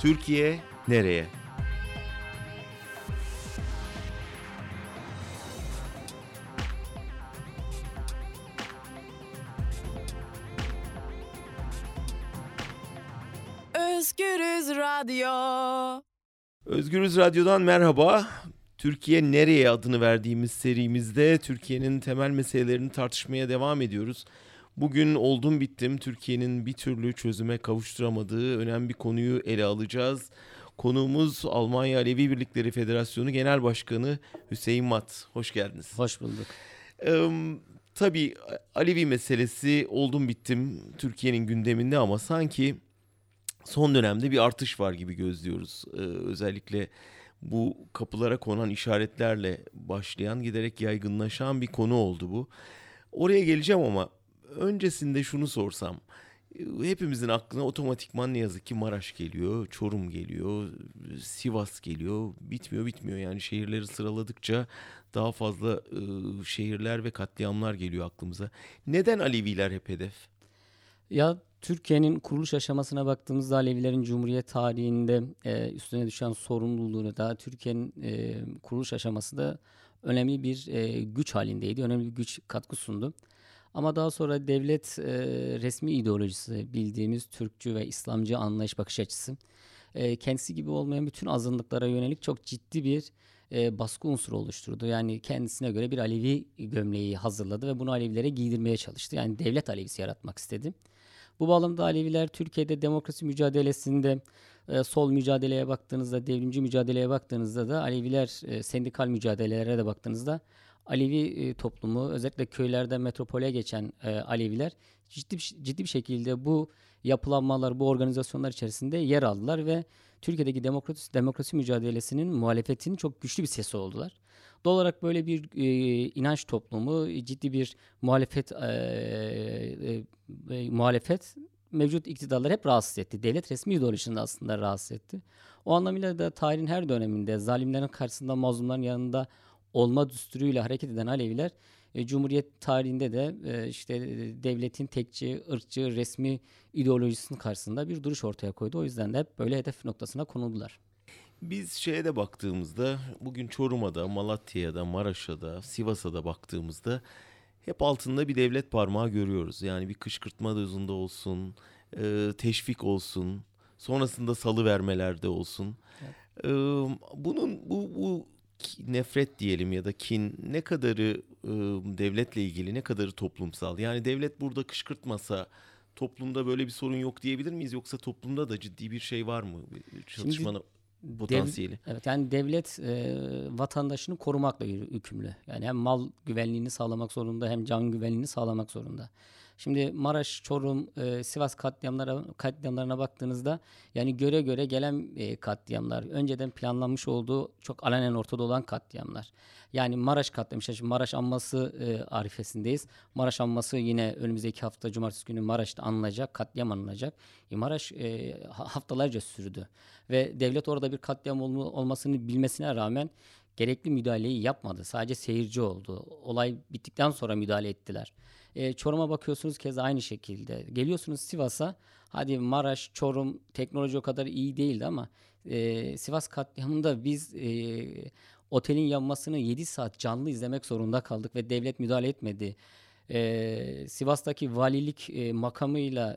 Türkiye nereye? Özgürüz Radyo. Özgürüz Radyo'dan merhaba. Türkiye nereye adını verdiğimiz serimizde Türkiye'nin temel meselelerini tartışmaya devam ediyoruz. Bugün oldum bittim Türkiye'nin bir türlü çözüme kavuşturamadığı önemli bir konuyu ele alacağız. Konuğumuz Almanya Alevi Birlikleri Federasyonu Genel Başkanı Hüseyin Mat. Hoş geldiniz. Hoş bulduk. Tabii Alevi meselesi oldum bittim Türkiye'nin gündeminde ama sanki son dönemde bir artış var gibi gözlüyoruz. Özellikle bu kapılara konan işaretlerle başlayan, giderek yaygınlaşan bir konu oldu bu. Oraya geleceğim ama öncesinde şunu sorsam. Hepimizin aklına otomatikman ne yazık ki Maraş geliyor, Çorum geliyor, Sivas geliyor. Bitmiyor yani şehirleri sıraladıkça daha fazla şehirler ve katliamlar geliyor aklımıza. Neden Aleviler hep hedef? Ya Türkiye'nin kuruluş aşamasına baktığımızda Alevilerin Cumhuriyet tarihinde üstüne düşen sorumluluğunu da Türkiye'nin kuruluş aşamasında önemli bir güç halindeydi. Önemli bir güç katkı sundu. Ama daha sonra devlet resmi ideolojisi bildiğimiz Türkçü ve İslamcı anlayış bakış açısı kendisi gibi olmayan bütün azınlıklara yönelik çok ciddi bir baskı unsuru oluşturdu. Yani kendisine göre bir Alevi gömleği hazırladı ve bunu Alevilere giydirmeye çalıştı. Yani devlet Alevisi yaratmak istedi. Bu bağlamda Aleviler Türkiye'de demokrasi mücadelesinde sol mücadeleye baktığınızda, devrimci mücadeleye baktığınızda da Aleviler sendikal mücadelelere de baktığınızda Alevi toplumu özellikle köylerden metropole geçen Aleviler ciddi bir şekilde bu yapılanmalar, bu organizasyonlar içerisinde yer aldılar ve Türkiye'deki demokrasi mücadelesinin muhalefetinin çok güçlü bir sesi oldular. Doğal olarak böyle bir inanç toplumu, ciddi bir muhalefet mevcut iktidarları hep rahatsız etti. Devlet resmi ideolojisini aslında rahatsız etti. O anlamıyla da tarihin her döneminde zalimlerin karşısında mazlumların yanında olma düsturuyla hareket eden Aleviler Cumhuriyet tarihinde de devletin tekçi, ırkçı, resmi ideolojisinin karşısında bir duruş ortaya koydu. O yüzden de hep böyle hedef noktasına konuldular. Biz şeye de baktığımızda bugün Çorum'a da, Malatya'ya da, Maraş'a da, Sivas'a da baktığımızda hep altında bir devlet parmağı görüyoruz. Yani bir kışkırtma dozunda olsun, teşvik olsun, sonrasında salıvermelerde olsun. Evet. Bu nefret diyelim ya da kin ne kadarı devletle ilgili, ne kadarı toplumsal? Yani devlet burada kışkırtmasa toplumda böyle bir sorun yok diyebilir miyiz? Yoksa toplumda da ciddi bir şey var mı? Çatışmanın potansiyeli. Evet, yani devlet vatandaşını korumakla yükümlü. Yani hem mal güvenliğini sağlamak zorunda hem can güvenliğini sağlamak zorunda. Şimdi Maraş, Çorum, Sivas katliamlarına baktığınızda yani göre göre gelen katliamlar, önceden planlanmış olduğu çok alenen ortada olan katliamlar. Yani Maraş katliamı, şimdi Maraş anması arifesindeyiz. Maraş anması yine önümüzdeki hafta Cumartesi günü Maraş'ta anılacak, katliam anılacak. Maraş haftalarca sürdü ve devlet orada bir katliam olmasını bilmesine rağmen gerekli müdahaleyi yapmadı. Sadece seyirci oldu. Olay bittikten sonra müdahale ettiler. Çorum'a bakıyorsunuz keza aynı şekilde. Geliyorsunuz Sivas'a. Hadi Maraş, Çorum teknoloji o kadar iyi değildi ama Sivas katliamında biz otelin yanmasını 7 saat canlı izlemek zorunda kaldık ve devlet müdahale etmedi. Sivas'taki valilik makamıyla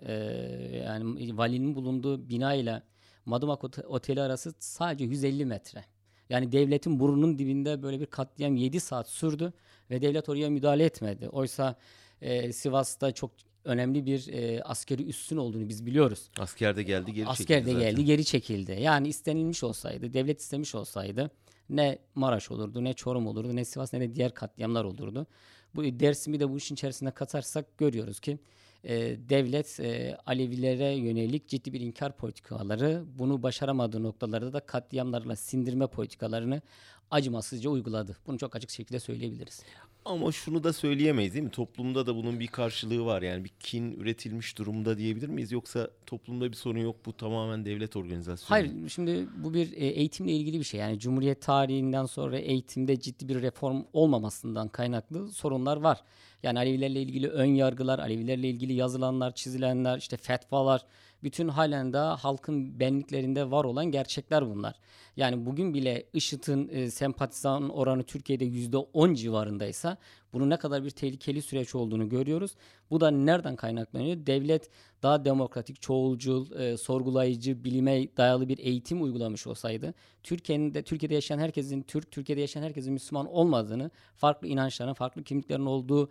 yani valinin bulunduğu binayla Madımak Oteli arası sadece 150 metre. Yani devletin burnunun dibinde böyle bir katliam 7 saat sürdü ve devlet oraya müdahale etmedi. Oysa Sivas'ta çok önemli bir askeri üssün olduğunu biz biliyoruz. Asker de geldi geri çekildi Asker de zaten. geldi geri çekildi. Yani istenilmiş olsaydı, devlet istemiş olsaydı ne Maraş olurdu, ne Çorum olurdu, ne Sivas ne de diğer katliamlar olurdu. Bu Dersim'i de bu işin içerisine katarsak görüyoruz ki devlet Alevilere yönelik ciddi bir inkar politikaları, bunu başaramadığı noktalarda da katliamlarla sindirme politikalarını acımasızca uyguladı. Bunu çok açık şekilde söyleyebiliriz. Ama şunu da söyleyemeyiz değil mi? Toplumda da bunun bir karşılığı var. Yani bir kin üretilmiş durumda diyebilir miyiz? Yoksa toplumda bir sorun yok, bu tamamen devlet organizasyonu. Hayır, şimdi bu bir eğitimle ilgili bir şey. Yani Cumhuriyet tarihinden sonra eğitimde ciddi bir reform olmamasından kaynaklı sorunlar var. Yani Alevilerle ilgili ön yargılar, Alevilerle ilgili yazılanlar, çizilenler, işte fetvalar Bütün halen daha halkın benliklerinde var olan gerçekler bunlar. Yani bugün bile IŞİD'in sempatizan oranı Türkiye'de %10 civarındaysa bunun ne kadar bir tehlikeli süreç olduğunu görüyoruz. Bu da nereden kaynaklanıyor? Devlet daha demokratik, çoğulcul, sorgulayıcı, bilime dayalı bir eğitim uygulamış olsaydı, Türkiye'de yaşayan herkesin Türkiye'de yaşayan herkesin Müslüman olmadığını, farklı inançların, farklı kimliklerin olduğu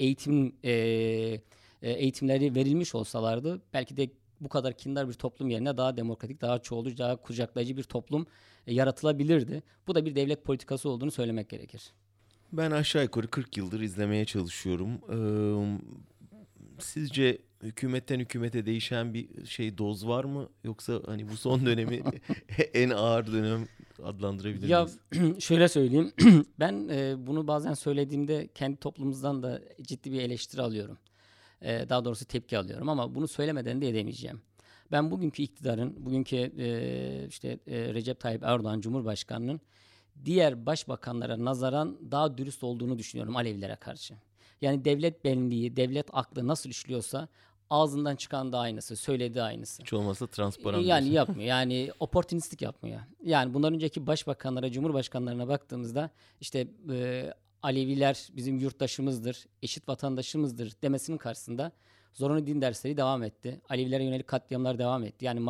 eğitimleri verilmiş olsalardı, belki de bu kadar kindar bir toplum yerine daha demokratik, daha çoğulcu, daha kucaklayıcı bir toplum yaratılabilirdi. Bu da bir devlet politikası olduğunu söylemek gerekir. Ben aşağı yukarı 40 yıldır izlemeye çalışıyorum. Sizce hükümetten hükümete değişen bir doz var mı? Yoksa hani bu son dönemi en ağır dönem adlandırabilir Ya miyiz? şöyle söyleyeyim, ben bunu bazen söylediğimde kendi toplumumuzdan da ciddi bir eleştiri alıyorum. Daha doğrusu tepki alıyorum ama bunu söylemeden de edemeyeceğim. Ben bugünkü iktidarın, Recep Tayyip Erdoğan Cumhurbaşkanı'nın diğer başbakanlara nazaran daha dürüst olduğunu düşünüyorum Alevilere karşı. Yani devlet benliği, devlet aklı nasıl işliyorsa ağzından çıkan da aynısı, söylediği aynısı. Hiç olmazsa transparan Yani diyorsun. yapmıyor. Yani opportunistik yapmıyor. Yani bundan önceki başbakanlara, cumhurbaşkanlarına baktığımızda Aleviler bizim yurttaşımızdır, eşit vatandaşımızdır demesinin karşısında zorunlu din dersleri devam etti. Alevilere yönelik katliamlar devam etti. Yani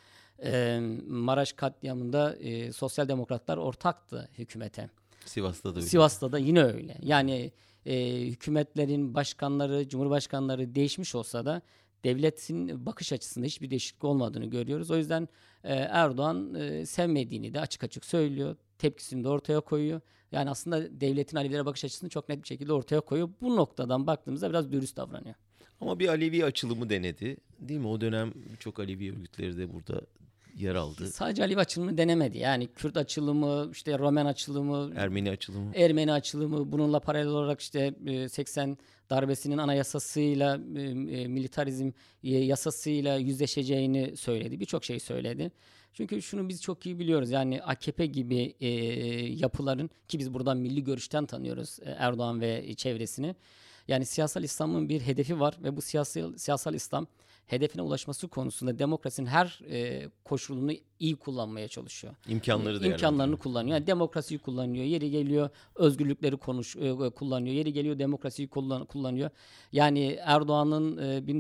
Maraş katliamında sosyal demokratlar ortaktı hükümete. Sivas'ta da öyle. Sivas'ta da yine öyle. Yani hükümetlerin başkanları, cumhurbaşkanları değişmiş olsa da devletin bakış açısında hiçbir değişiklik olmadığını görüyoruz. O yüzden Erdoğan sevmediğini de açık açık söylüyor. Tepkisini de ortaya koyuyor. Yani aslında devletin Alevilere bakış açısını çok net bir şekilde ortaya koyuyor. Bu noktadan baktığımızda biraz dürüst davranıyor. Ama bir Alevi açılımı denedi. Değil mi? O dönem birçok Alevi örgütleri de burada yer aldı. Sadece Alevi açılımı denemedi. Yani Kürt açılımı, işte Romen açılımı, Ermeni açılımı. Ermeni açılımı, bununla paralel olarak 80 darbesinin anayasasıyla, militarizm yasasıyla yüzleşeceğini söyledi. Birçok şey söyledi. Çünkü şunu biz çok iyi biliyoruz. Yani AKP gibi yapıların, ki biz buradan milli görüşten tanıyoruz Erdoğan ve çevresini. Yani siyasal İslam'ın bir hedefi var ve bu siyasal İslam hedefine ulaşması konusunda demokrasinin her koşulunu iyi kullanmaya çalışıyor. İmkanlarını kullanıyor. Yani demokrasiyi kullanıyor. Yeri geliyor özgürlükleri kullanıyor. Yeri geliyor demokrasiyi kullanıyor. Yani Erdoğan'ın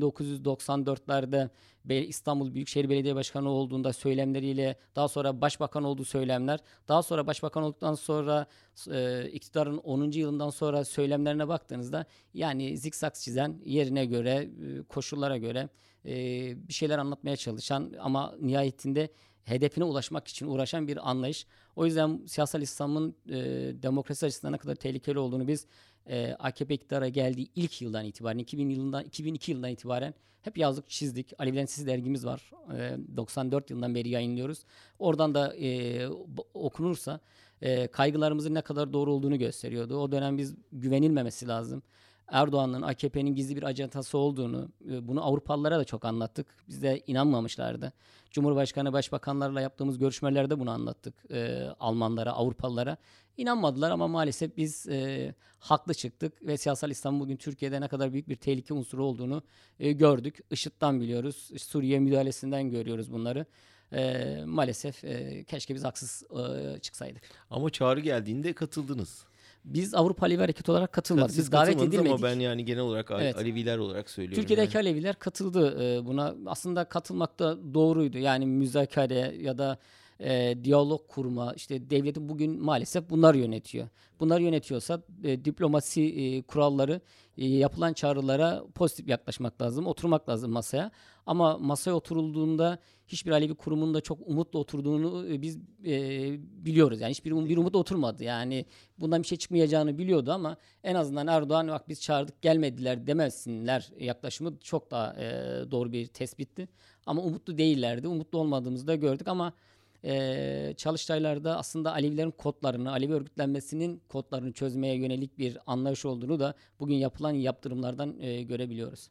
1994'lerde İstanbul Büyükşehir Belediye Başkanı olduğunda söylemleriyle, daha sonra başbakan olduğu söylemler, daha sonra başbakan olduktan sonra iktidarın 10. yılından sonra söylemlerine baktığınızda yani zikzak çizen, yerine göre, koşullara göre bir şeyler anlatmaya çalışan ama nihayetinde hedefine ulaşmak için uğraşan bir anlayış. O yüzden siyasal İslam'ın demokrasi açısından ne kadar tehlikeli olduğunu biz AKP iktidara geldiği ilk yıldan itibaren, 2002 yılından itibaren hep yazdık, çizdik. Alevilerin Sesi dergimiz var. 94 yılından beri yayınlıyoruz. Oradan da okunursa kaygılarımızın ne kadar doğru olduğunu gösteriyordu. O dönem biz güvenilmemesi lazım. Erdoğan'ın, AKP'nin gizli bir ajandası olduğunu, bunu Avrupalılara da çok anlattık. Biz de inanmamışlardı. Cumhurbaşkanı, başbakanlarla yaptığımız görüşmelerde bunu anlattık Almanlara, Avrupalılara. İnanmadılar ama maalesef biz haklı çıktık ve siyasal İslam bugün Türkiye'de ne kadar büyük bir tehlike unsuru olduğunu gördük. IŞİD'den biliyoruz, Suriye müdahalesinden görüyoruz bunları. Maalesef keşke biz haksız çıksaydık. Ama çağrı geldiğinde katıldınız. Biz Avrupa Alevi Hareketi olarak katılmadık. Siz Biz davet katılmadınız edilmedik. ama ben yani genel olarak Evet. Aleviler olarak söylüyorum. Türkiye'deki yani. Aleviler katıldı buna. Aslında katılmak da doğruydu. Yani müzakere ya da diyalog kurma, işte devleti bugün maalesef bunlar yönetiyor. Bunlar yönetiyorsa diplomasi kuralları, yapılan çağrılara pozitif yaklaşmak lazım, oturmak lazım masaya. Ama masaya oturulduğunda hiçbir Alevi kurumunun da çok umutla oturduğunu biz biliyoruz. Yani bir umut oturmadı. Yani bundan bir şey çıkmayacağını biliyordu ama en azından Erdoğan bak biz çağırdık gelmediler demesinler yaklaşımı çok daha doğru bir tespitti. Ama umutlu değillerdi. Umutlu olmadığımızı da gördük ama Çalıştaylar'da aslında Alevilerin kodlarını, Alevi örgütlenmesinin kodlarını çözmeye yönelik bir anlayış olduğunu da bugün yapılan yaptırımlardan görebiliyoruz.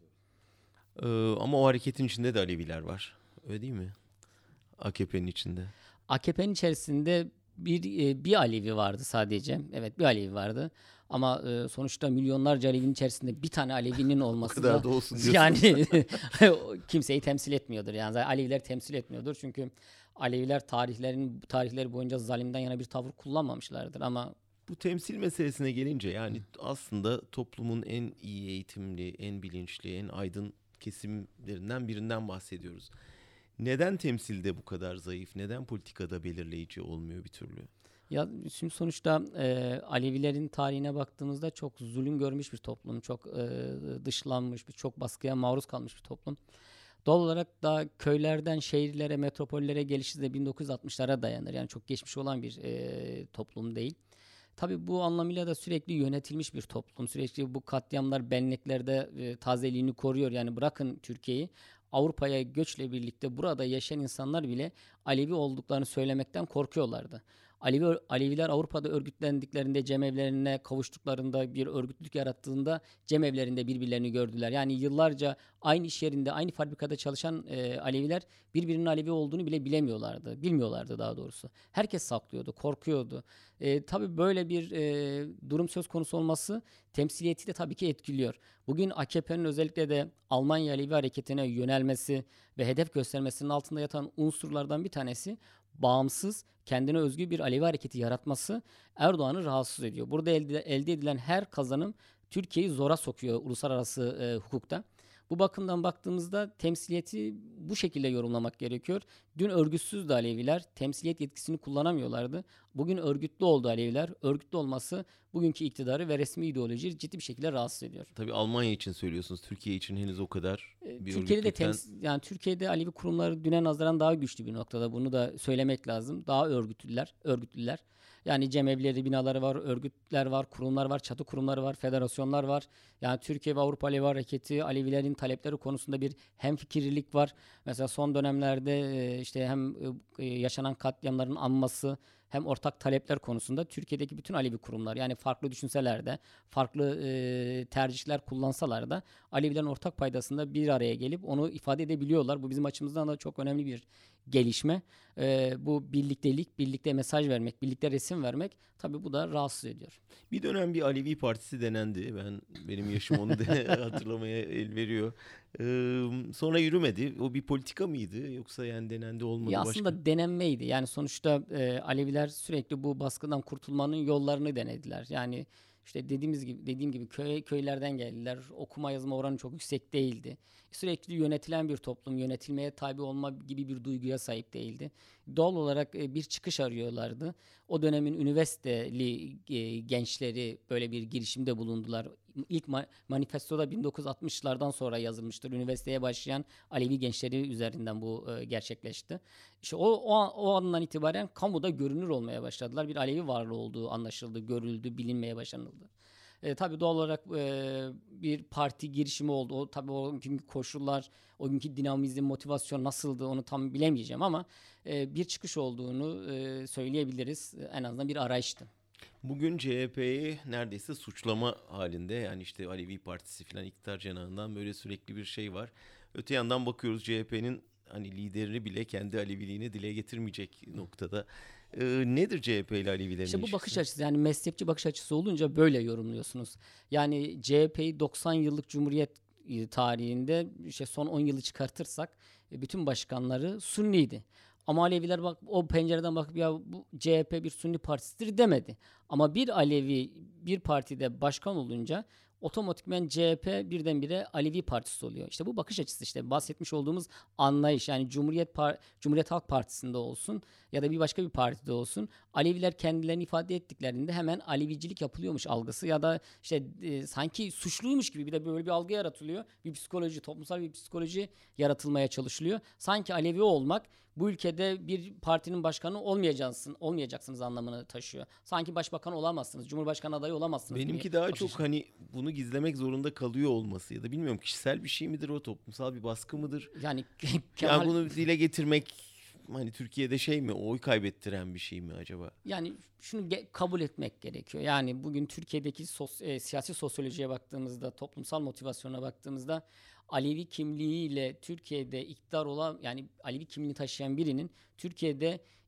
Ama o hareketin içinde de Aleviler var. Öyle değil mi? AKP'nin içinde. AKP'nin içerisinde bir Alevi vardı sadece. Evet, bir Alevi vardı. Ama sonuçta milyonlarca Alevi'nin içerisinde bir tane Alevi'nin O olması kadar da da olsun diyorsun. yani kimseyi temsil etmiyordur. Yani zaten Aleviler temsil etmiyordur. Çünkü Aleviler tarihleri boyunca zalimden yana bir tavır kullanmamışlardır. Ama Bu temsil meselesine gelince yani aslında toplumun en iyi eğitimli, en bilinçli, en aydın kesimlerinden birinden bahsediyoruz. Neden temsilde bu kadar zayıf? Neden politikada belirleyici olmuyor bir türlü? ya şimdi sonuçta Alevilerin tarihine baktığımızda çok zulüm görmüş bir toplum, çok dışlanmış, çok baskıya maruz kalmış bir toplum. Doğal olarak da köylerden şehirlere, metropollere gelişi de 1960'lara dayanır. Yani çok geçmiş olan bir toplum değil. Tabii bu anlamıyla da sürekli yönetilmiş bir toplum. Sürekli bu katliamlar benliklerde tazeliğini koruyor. Yani bırakın Türkiye'yi, Avrupa'ya göçle birlikte burada yaşayan insanlar bile Alevi olduklarını söylemekten korkuyorlardı. Aleviler Avrupa'da örgütlendiklerinde, cemevlerine kavuştuklarında, bir örgütlülük yarattığında cemevlerinde birbirlerini gördüler. Yani yıllarca aynı iş yerinde, aynı fabrikada çalışan Aleviler birbirinin Alevi olduğunu bile bilemiyorlardı. Bilmiyorlardı daha doğrusu. Herkes saklıyordu, korkuyordu. Tabii böyle bir durum söz konusu olması temsiliyeti de tabii ki etkiliyor. Bugün AKP'nin özellikle de Almanya Alevi hareketine yönelmesi ve hedef göstermesinin altında yatan unsurlardan bir tanesi bağımsız, kendine özgü bir Alevi hareketi yaratması Erdoğan'ı rahatsız ediyor. Burada elde edilen her kazanım Türkiye'yi zora sokuyor uluslararası hukukta. Bu bakımdan baktığımızda temsiliyeti bu şekilde yorumlamak gerekiyor. Dün örgütsüzdü Aleviler, temsiliyet yetkisini kullanamıyorlardı. Bugün örgütlü oldu Aleviler. Örgütlü olması bugünkü iktidarı ve resmi ideolojiyi ciddi bir şekilde rahatsız ediyor. Tabii Almanya için söylüyorsunuz. Türkiye için henüz o kadar bir Türkiye'de de örgütlükten... yani Türkiye'de Alevi kurumları düne nazaran daha güçlü bir noktada. Bunu da söylemek lazım. Daha örgütlüler. Yani cemevleri, binaları var, örgütler var, kurumlar var, çatı kurumları var, federasyonlar var. Yani Türkiye ve Avrupa Alevi Hareketi, Alevilerin talepleri konusunda bir hemfikirlilik var. Mesela son dönemlerde işte hem yaşanan katliamların anması hem ortak talepler konusunda Türkiye'deki bütün Alevi kurumlar, yani farklı düşünseler de, farklı tercihler kullansalar da Alevilerin ortak paydasında bir araya gelip onu ifade edebiliyorlar. Bu bizim açımızdan da çok önemli bir gelişme. Bu birliktelik, birlikte mesaj vermek, birlikte resim vermek, tabii bu da rahatsız ediyor. Bir dönem bir Alevi Partisi denendi. Benim yaşım onu hatırlamaya el veriyor. Sonra yürümedi. O bir politika mıydı yoksa yani denendi olmadı Ya başka? aslında denenmeydi. Yani sonuçta Aleviler sürekli bu baskıdan kurtulmanın yollarını denediler. Yani işte dediğim gibi köylerden geldiler. Okuma yazma oranı çok yüksek değildi. Sürekli yönetilen bir toplum, yönetilmeye tabi olma gibi bir duyguya sahip değildi. Doğal olarak bir çıkış arıyorlardı. O dönemin üniversiteli gençleri böyle bir girişimde bulundular. İlk manifestoda 1960'lardan sonra yazılmıştır. Üniversiteye başlayan Alevi gençleri üzerinden bu gerçekleşti. İşte o andan itibaren kamuda görünür olmaya başladılar. Bir Alevi varlığı olduğu anlaşıldı, görüldü, bilinmeye başlanıldı. Tabii doğal olarak bir parti girişimi oldu. Tabii o günkü koşullar, o günkü dinamizm, motivasyon nasıldı onu tam bilemeyeceğim ama bir çıkış olduğunu söyleyebiliriz. En azından bir arayıştı. Bugün CHP'yi neredeyse suçlama halinde, yani işte Alevi Partisi falan iktidar cenahından böyle sürekli bir şey var. Öte yandan bakıyoruz CHP'nin hani liderini bile kendi Aleviliğini dile getirmeyecek noktada. Nedir CHP ile Alevilerin İşte bu ilişkisi? bakış açısı, yani mezhepçi bakış açısı olunca böyle yorumluyorsunuz. Yani CHP'yi 90 yıllık Cumhuriyet tarihinde işte son 10 yılı çıkartırsak bütün başkanları Sünniydi. Ama Aleviler bak o pencereden bakıp ya bu CHP bir Sünni partisidir demedi. Ama bir Alevi bir partide başkan olunca otomatikman CHP birdenbire Alevi partisi oluyor. İşte bu bakış açısı, işte bahsetmiş olduğumuz anlayış, yani Cumhuriyet Halk Partisi'nde olsun ya da bir başka bir partide olsun, Aleviler kendilerini ifade ettiklerinde hemen Alevicilik yapılıyormuş algısı ya da işte sanki suçluymuş gibi bir de böyle bir algı yaratılıyor. Bir psikoloji, toplumsal bir psikoloji yaratılmaya çalışılıyor. Sanki Alevi olmak bu ülkede bir partinin başkanı olmayacaksınız anlamını taşıyor. Sanki başbakan olamazsınız, cumhurbaşkanı adayı olamazsınız Benimki gibi daha bakış çok hani bunu gizlemek zorunda kalıyor olması ya da bilmiyorum, kişisel bir şey midir o, toplumsal bir baskı mıdır? yani Yani Kemal, bunu dile getirmek hani Türkiye'de şey mi, oy kaybettiren bir şey mi acaba? yani şunu kabul etmek gerekiyor. Yani bugün Türkiye'deki siyasi sosyolojiye baktığımızda, toplumsal motivasyona baktığımızda Alevi kimliğiyle Türkiye'de iktidar olan, yani Alevi kimliğini taşıyan birinin Türkiye'de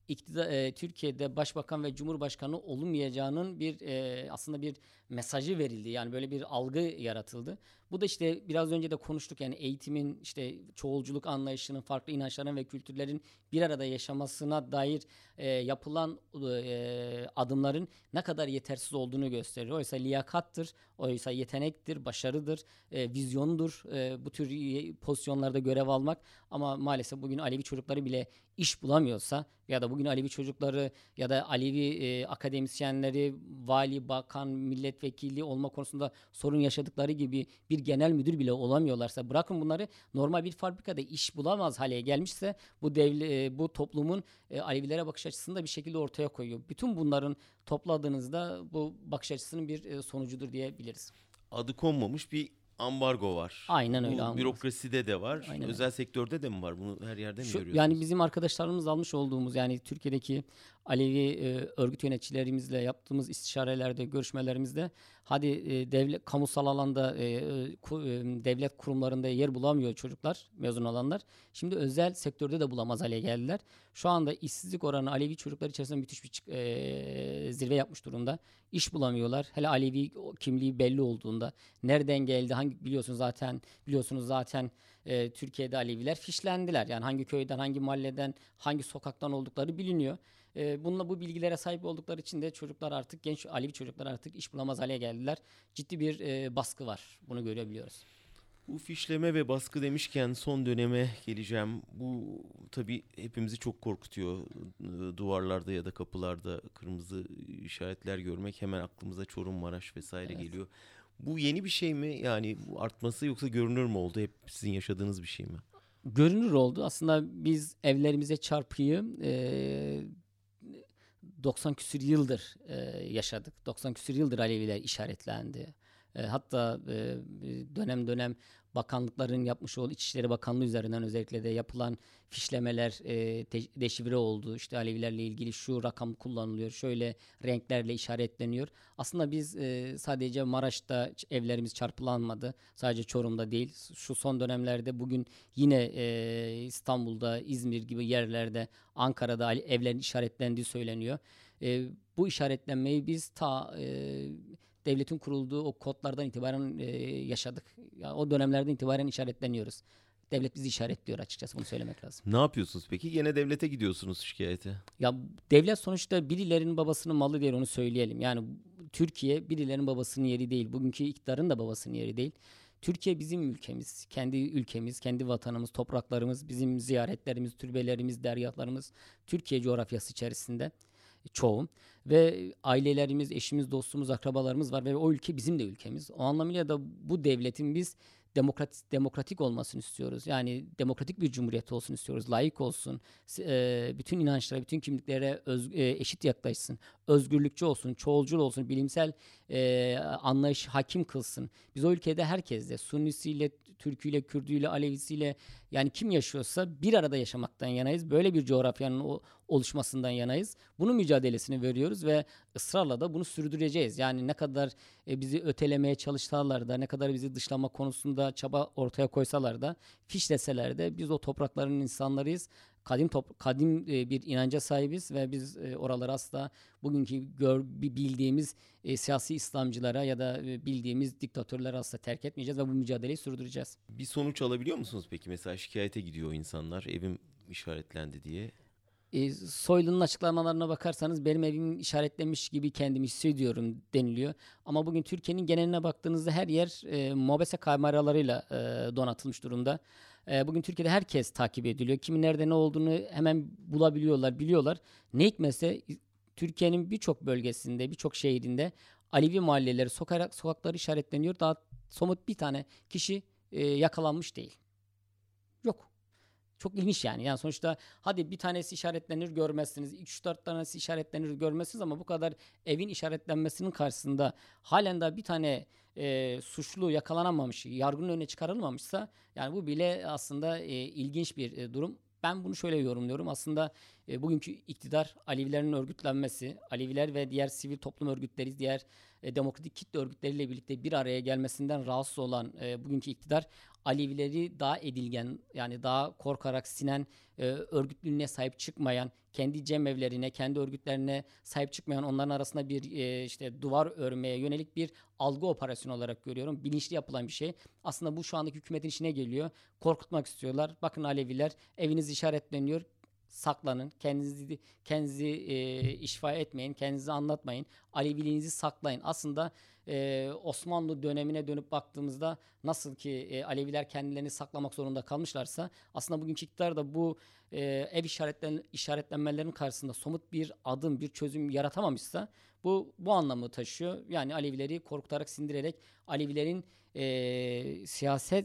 Türkiye'de başbakan ve cumhurbaşkanı olunmayacağının aslında bir mesajı verildi. Yani böyle bir algı yaratıldı. Bu da işte biraz önce de konuştuk, yani eğitimin, işte çoğulculuk anlayışının, farklı inançların ve kültürlerin bir arada yaşamasına dair yapılan adımların ne kadar yetersiz olduğunu gösteriyor. Oysa liyakattır, oysa yetenektir, başarıdır, vizyondur bu tür pozisyonlarda görev almak. Ama maalesef bugün Alevi çocukları bile iş bulamıyorsa ya da bugün Alevi çocukları ya da Alevi akademisyenleri vali, bakan, milletvekili olma konusunda sorun yaşadıkları gibi bir genel müdür bile olamıyorlarsa, bırakın bunları, normal bir fabrikada iş bulamaz hale gelmişse bu toplumun Alevilere bakış açısını da bir şekilde ortaya koyuyor. Bütün bunların topladığınızda bu bakış açısının bir sonucudur diyebiliriz. Adı konmamış bir ambargo var. Aynen öyle. Bu bürokraside de var. Aynen Özel sektörde de mi var? Bunu her yerde mi görüyorsunuz? Yani bizim arkadaşlarımız almış olduğumuz, yani Türkiye'deki Alevi örgüt yöneticilerimizle yaptığımız istişarelerde, görüşmelerimizde, hadi devlet, kamusal alanda devlet kurumlarında yer bulamıyor çocuklar, mezun olanlar. Şimdi özel sektörde de bulamaz hale geldiler. Şu anda işsizlik oranı Alevi çocuklar içerisinde müthiş bir zirve yapmış durumda. İş bulamıyorlar. Hele Alevi kimliği belli olduğunda, nereden geldi, biliyorsunuz zaten Türkiye'de Aleviler fişlendiler. Yani hangi köyden, hangi mahalleden, hangi sokaktan oldukları biliniyor. Bu bilgilere sahip oldukları için de genç Alevi çocuklar artık iş bulamaz hale geldiler. Ciddi bir baskı var. Bunu görebiliyoruz. Bu fişleme ve baskı demişken son döneme geleceğim. Bu tabii hepimizi çok korkutuyor. Duvarlarda ya da kapılarda kırmızı işaretler görmek hemen aklımıza Çorum, Maraş vesaire geliyor. Bu yeni bir şey mi? Yani bu artması, yoksa görünür mü oldu? Hep sizin yaşadığınız bir şey mi? Görünür oldu. Aslında biz evlerimize çarpıyı 90 küsür yıldır yaşadık. 90 küsür yıldır Aleviler işaretlendi. Hatta dönem dönem bakanlıkların yapmış olduğu, İçişleri Bakanlığı üzerinden özellikle de yapılan fişlemeler deşifre oldu. İşte Alevilerle ilgili şu rakam kullanılıyor, şöyle renklerle işaretleniyor. Aslında biz sadece Maraş'ta evlerimiz çarpılanmadı. Sadece Çorum'da değil. Şu son dönemlerde bugün yine İstanbul'da, İzmir gibi yerlerde, Ankara'da evlerin işaretlendiği söyleniyor. Bu işaretlenmeyi biz devletin kurulduğu o kodlardan itibaren yaşadık. Yani o dönemlerden itibaren işaretleniyoruz. Devlet bizi işaretliyor, açıkçası bunu söylemek lazım. Ne yapıyorsunuz peki? Gene devlete gidiyorsunuz şikayete. Ya devlet sonuçta birilerinin babasının malı değil, onu söyleyelim. Yani Türkiye birilerinin babasının yeri değil. Bugünkü iktidarın da babasının yeri değil. Türkiye bizim ülkemiz, kendi ülkemiz, kendi vatanımız, topraklarımız, bizim ziyaretlerimiz, türbelerimiz, dergahlarımız Türkiye coğrafyası içerisinde çoğu ve ailelerimiz, eşimiz, dostumuz, akrabalarımız var ve o ülke bizim de ülkemiz. O anlamıyla da bu devletin biz demokratik olmasını istiyoruz. Yani demokratik bir cumhuriyet olsun istiyoruz. Layık olsun. Bütün inançlara, bütün kimliklere eşit yaklaşsın. Özgürlükçü olsun, çoğulcul olsun, bilimsel anlayış hakim kılsın. Biz o ülkede herkesle, Sunnisiyle, Türküyle, Kürdüyle, Alevisiyle, yani kim yaşıyorsa bir arada yaşamaktan yanayız. Böyle bir coğrafyanın oluşmasından yanayız. Bunun mücadelesini veriyoruz ve ısrarla da bunu sürdüreceğiz. Yani ne kadar bizi ötelemeye çalışsalar da, ne kadar bizi dışlama konusunda çaba ortaya koysalar da, fişleseler de biz o toprakların insanlarıyız. Kadim bir inanca sahibiz ve biz oraları asla bugünkü bildiğimiz siyasi İslamcılara ya da bildiğimiz diktatörlere asla terk etmeyeceğiz ve bu mücadeleyi sürdüreceğiz. Bir sonuç alabiliyor musunuz peki? Mesela şikayete gidiyor insanlar, evim işaretlendi diye. Soylu'nun açıklamalarına bakarsanız benim evim işaretlenmiş gibi kendimi hissediyorum deniliyor. Ama bugün Türkiye'nin geneline baktığınızda her yer mobese kameralarıyla donatılmış durumda. Bugün Türkiye'de herkes takip ediliyor. Kimin nerede ne olduğunu hemen bulabiliyorlar, biliyorlar. Ne hikmetse Türkiye'nin birçok bölgesinde, birçok şehrinde Alevi mahalleleri, sokakları işaretleniyor. Daha somut bir tane kişi yakalanmış değil. Yok. Çok ilginç yani. Yani sonuçta hadi bir tanesi işaretlenir görmezsiniz. 3-4 tanesi işaretlenir görmezsiniz ama bu kadar evin işaretlenmesinin karşısında halen daha bir tane suçlu yakalanamamış, yargının önüne çıkarılmamışsa, yani bu bile aslında ilginç bir durum. Ben bunu şöyle yorumluyorum. Aslında bugünkü iktidar, Alevilerin örgütlenmesi, Aleviler ve diğer sivil toplum örgütleri, diğer demokratik kitle örgütleriyle birlikte bir araya gelmesinden rahatsız olan bugünkü iktidar Alevileri daha edilgen, yani daha korkarak sinen, örgütlülüğüne sahip çıkmayan, kendi cemevlerine, kendi örgütlerine sahip çıkmayan, onların arasında bir işte duvar örmeye yönelik bir algı operasyonu olarak görüyorum. Bilinçli yapılan bir şey. Aslında bu şu andaki hükümetin işine geliyor. Korkutmak istiyorlar. Bakın Aleviler, eviniz işaretleniyor. Saklanın. Kendinizi işfa etmeyin. Kendinizi anlatmayın. Aleviliğinizi saklayın. Aslında Osmanlı dönemine dönüp baktığımızda nasıl ki Aleviler kendilerini saklamak zorunda kalmışlarsa, aslında bugünkü iktidar da bu ev işaretlenmelerinin karşısında somut bir adım, bir çözüm yaratamamışsa bu anlamı taşıyor. Yani Alevileri korkutarak, sindirerek Alevilerin siyaset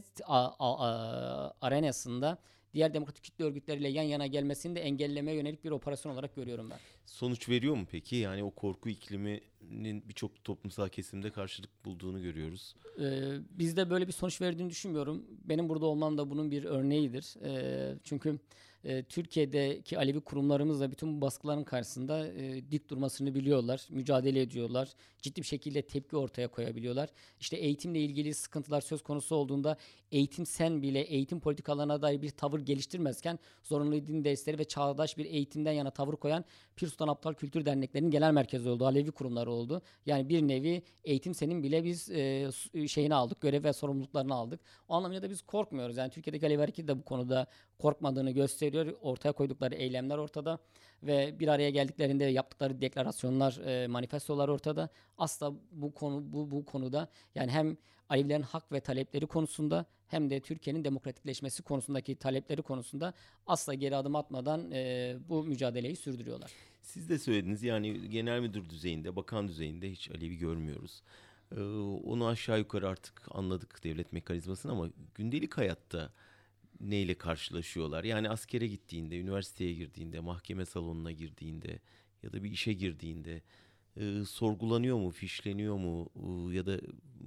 arenasında diğer demokratik kitle örgütleriyle yan yana gelmesini de engellemeye yönelik bir operasyon olarak görüyorum ben. Sonuç veriyor mu peki? Yani o korku ikliminin birçok toplumsal kesimde karşılık bulduğunu görüyoruz. Bizde böyle bir sonuç verdiğini düşünmüyorum. Benim burada olmam da bunun bir örneğidir. Çünkü Türkiye'deki Alevi kurumlarımız da bütün bu baskıların karşısında dik durmasını biliyorlar, mücadele ediyorlar, ciddi bir şekilde tepki ortaya koyabiliyorlar. İşte eğitimle ilgili sıkıntılar söz konusu olduğunda eğitim sen bile eğitim politikalarına dair bir tavır geliştirmezken zorunlu din dersleri ve çağdaş bir eğitimden yana tavır koyan Pir Sultan Abdal Kültür Derneklerinin genel merkezi oldu, Alevi kurumları oldu. Yani bir nevi eğitim senin bile biz şeyini aldık, görev ve sorumluluklarını aldık. O anlamda da biz korkmuyoruz. Yani Türkiye'deki Alevi Hareketi de bu konuda korkmadığını gösteriyor. Ortaya koydukları eylemler ortada ve bir araya geldiklerinde yaptıkları deklarasyonlar, manifestolar ortada. Asla bu konuda, yani hem Alevilerin hak ve talepleri konusunda hem de Türkiye'nin demokratikleşmesi konusundaki talepleri konusunda asla geri adım atmadan bu mücadeleyi sürdürüyorlar. Siz de söylediniz, yani genel müdür düzeyinde, bakan düzeyinde hiç Alevi görmüyoruz. Onu aşağı yukarı artık anladık, devlet mekanizmasını, ama gündelik hayatta neyle karşılaşıyorlar? Yani askere gittiğinde, üniversiteye girdiğinde, mahkeme salonuna girdiğinde ya da bir işe girdiğinde sorgulanıyor mu, fişleniyor mu, ya da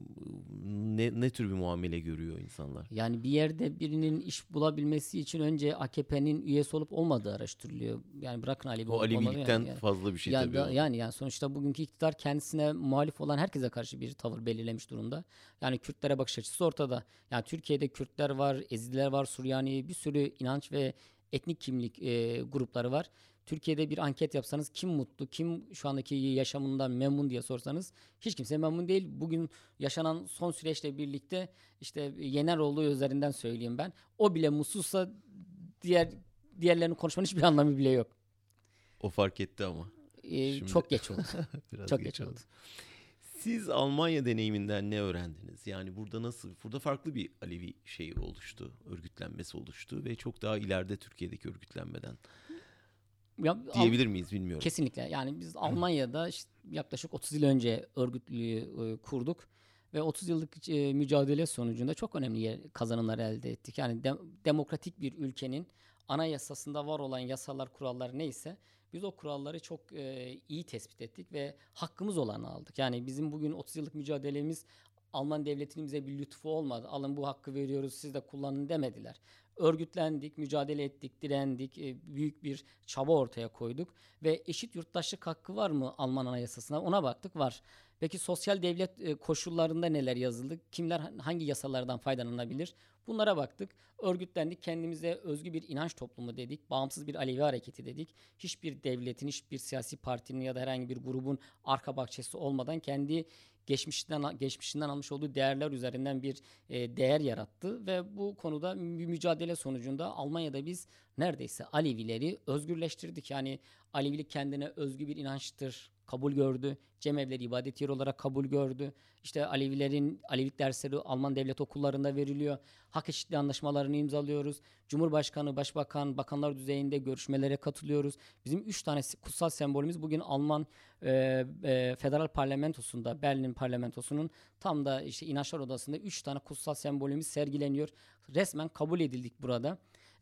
ne tür bir muamele görüyor insanlar? Yani bir yerde birinin iş bulabilmesi için önce AKP'nin üyesi olup olmadığı araştırılıyor. Yani bırakın Alevi O olup olmadığı, Alevilikten yani. fazla bir şey Ya tabii da, o. yani sonuçta bugünkü iktidar kendisine muhalif olan herkese karşı bir tavır belirlemiş durumda. Yani Kürtlere bakış açısı ortada. Yani Türkiye'de Kürtler var, Ezidiler var, Süryani, bir sürü inanç ve etnik kimlik grupları var. Türkiye'de bir anket yapsanız kim mutlu, kim şu andaki yaşamından memnun diye sorsanız hiç kimse memnun değil. Bugün yaşanan son süreçle birlikte işte Yeneroğlu üzerinden söyleyeyim ben. O bile mutsuzsa diğerlerinin konuşmanın hiçbir anlamı bile yok. O fark etti ama. Şimdi Çok geç oldu. biraz Çok geç geç oldu. oldu. Siz Almanya deneyiminden ne öğrendiniz? Yani burada farklı bir Alevi şeyi oluştu, örgütlenmesi oluştu ve çok daha ileride Türkiye'deki örgütlenmeden Ya, diyebilir miyiz bilmiyorum. kesinlikle. Yani biz Almanya'da işte yaklaşık 30 yıl önce örgütlüğü kurduk ve 30 yıllık mücadele sonucunda çok önemli kazanımlar elde ettik. Yani demokratik bir ülkenin anayasasında var olan yasalar, kurallar neyse biz o kuralları çok iyi tespit ettik ve hakkımız olanı aldık. Yani bizim bugün 30 yıllık mücadelemiz Alman devletinin bize bir lütfu olmadı. Alın bu hakkı veriyoruz, siz de kullanın demediler. Örgütlendik, mücadele ettik, direndik, büyük bir çaba ortaya koyduk ve eşit yurttaşlık hakkı var mı Alman anayasasına? Ona baktık, var. Peki sosyal devlet koşullarında neler yazıldı? Kimler hangi yasalardan faydalanabilir? Bunlara baktık. Örgütlendik, kendimize özgü bir inanç toplumu dedik. Bağımsız bir Alevi hareketi dedik. Hiçbir devletin, hiçbir siyasi partinin ya da herhangi bir grubun arka bahçesi olmadan kendi geçmişinden almış olduğu değerler üzerinden bir değer yarattı ve bu konuda mücadele sonucunda Almanya'da biz neredeyse Alevileri özgürleştirdik. Yani Alevilik kendine özgü bir inançtır kabul gördü. Cemevleri ibadet yeri olarak kabul gördü. İşte Alevilik dersleri Alman devlet okullarında veriliyor. Hak eşitliği anlaşmalarını imzalıyoruz. Cumhurbaşkanı, başbakan, bakanlar düzeyinde görüşmelere katılıyoruz. Bizim 3 tane kutsal sembolümüz bugün Alman Federal Parlamentosu'nda, Berlin Parlamentosu'nun tam da işte inançlar odasında 3 tane kutsal sembolümüz sergileniyor. Resmen kabul edildik burada.